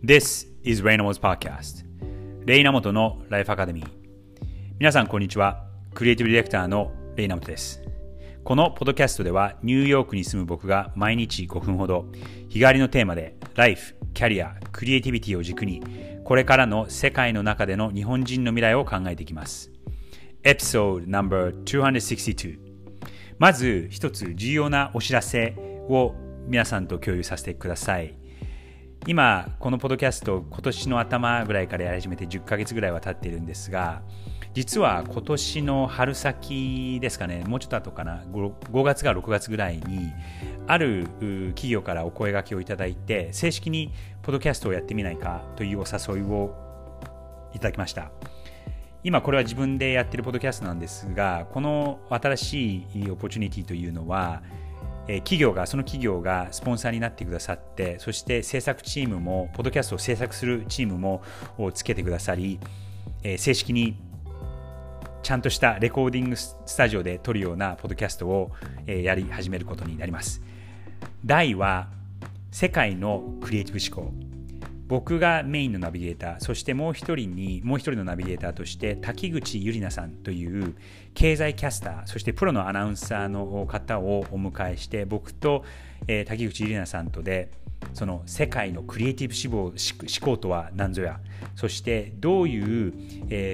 This is Raynamo's Podcast レイナモトのライフアカデミー。皆さんこんにちは。クリエイティブディレクターのレイナモトです。このポッドキャストではニューヨークに住む僕が毎日5分ほど日替わりのテーマでライフ、キャリア、クリエイティビティを軸にこれからの世界の中での日本人の未来を考えていきます。エピソード No.262。まず一つ重要なお知らせを皆さんと共有させてください。今このポッドキャスト今年の頭ぐらいからやり始めて10ヶ月ぐらいは経っているんですが、実は今年の春先ですかね、もうちょっと後かな、5月か6月ぐらいにある企業からお声掛けをいただいて、正式にポッドキャストをやってみないかというお誘いをいただきました。今これは自分でやっているポッドキャストなんですが、この新しいオポチュニティというのはその企業がスポンサーになってくださって、そして制作チームもポッドキャストを制作するチームもつけてくださり、正式にちゃんとしたレコーディングスタジオで撮るようなポッドキャストをやり始めることになります。題は世界のクリエイティブ思考。僕がメインのナビゲーター、そしてもう一人のナビゲーターとして滝口ゆりなさんという経済キャスター、そしてプロのアナウンサーの方をお迎えして、僕と、滝口ゆりなさんとでその世界のクリエイティブ思考とは何ぞや、そしてどういう、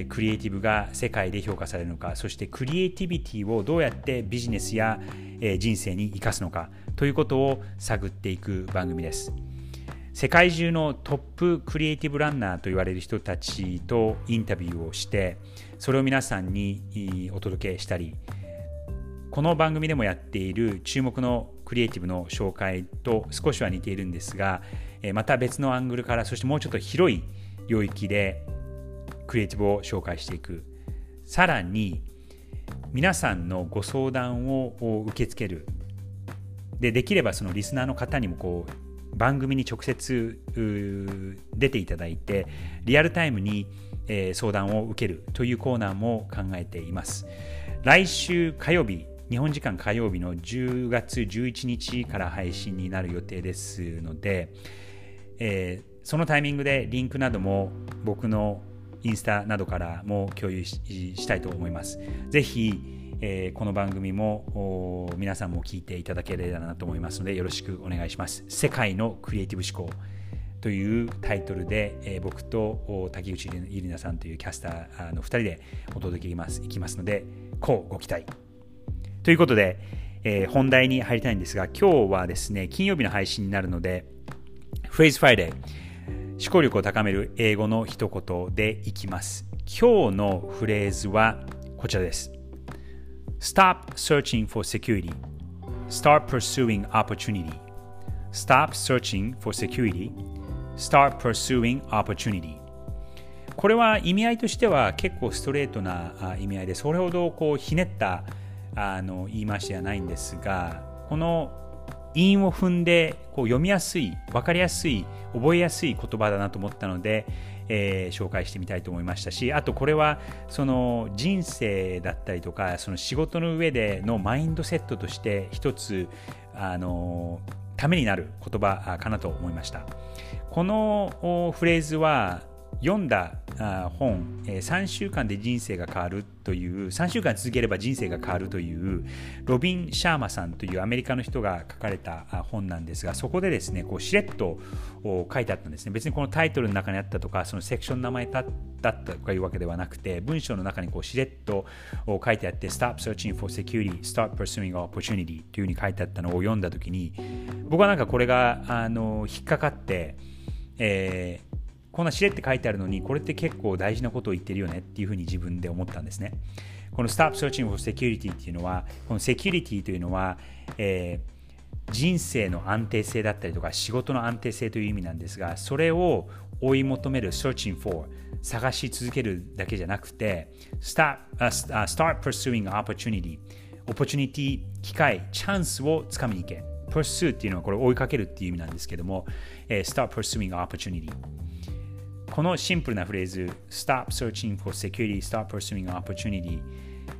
クリエイティブが世界で評価されるのか、そしてクリエイティビティをどうやってビジネスや、人生に生かすのかということを探っていく番組です。世界中のトップクリエイティブランナーと言われる人たちとインタビューをして、それを皆さんにお届けしたり、この番組でもやっている注目のクリエイティブの紹介と少しは似ているんですが、また別のアングルから、そしてもうちょっと広い領域でクリエイティブを紹介していく。さらに皆さんのご相談を受け付ける。できればそのリスナーの方にも番組に直接出ていただいてリアルタイムに相談を受けるというコーナーも考えています。来週火曜日、日本時間火曜日の10月11日から配信になる予定ですので、そのタイミングでリンクなども僕のインスタなどからも共有したいと思います。ぜひこの番組も皆さんも聞いていただければなと思いますので、よろしくお願いします。世界のクリエイティブ思考というタイトルで、僕と滝口ゆりなさんというキャスターの2人でお届けいきますので、ご期待ということで、本題に入りたいんですが、今日はですね、金曜日の配信になるのでフレーズフライデー、思考力を高める英語の一言でいきます。今日のフレーズはこちらです。Stop searching for security. Start pursuing opportunity. Stop searching for security. Start pursuing opportunity. これは意味合いとしては結構ストレートな意味合いで、それほどひねった言い回しではないんですが、この韻を踏んで読みやすい、分かりやすい、覚えやすい言葉だなと思ったので、紹介してみたいと思いましたし、あとこれはその人生だったりとか、その仕事の上でのマインドセットとして一つためになる言葉かなと思いました。このフレーズは読んだ本、3週間で人生が変わるという、3週間続ければ人生が変わるというロビン・シャーマさんというアメリカの人が書かれた本なんですが、そこでですね、しれっと書いてあったんですね。別にこのタイトルの中にあったとか、そのセクションの名前だったとかいうわけではなくて、文章の中にしれっと書いてあって、Stop searching for security, start pursuing opportunity というふうに書いてあったのを読んだときに、僕はこれが引っかかって、こんなしれって書いてあるのに、これって結構大事なことを言ってるよねっていうふうに自分で思ったんですね。この Stop Searching for Security っていうのは、このセキュリティというのは、人生の安定性だったりとか仕事の安定性という意味なんですが、それを追い求める Searching for、 探し続けるだけじゃなくて Start Pursuing Opportunity、 Opportunity、 機会、チャンスをつかみに行け。 Pursue っていうのはこれ追いかけるっていう意味なんですけども、Start Pursuing Opportunity、このシンプルなフレーズ Stop searching for security, start pursuing opportunity、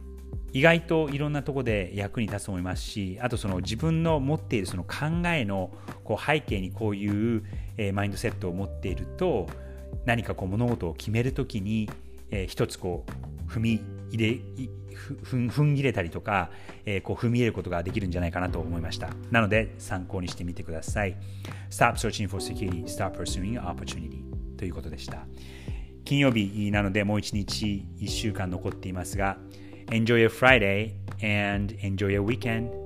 意外といろんなところで役に立つと思いますし、あとその自分の持っているその考えの背景にこういうマインドセットを持っていると、何か物事を決めるときに一つ踏ん切れたりとか、踏み入れることができるんじゃないかなと思いました。なので参考にしてみてください。Stop searching for security, start pursuing opportunity ということでした。金曜日なのでもう一日1週間残っていますが、Enjoy your Friday and enjoy your weekend.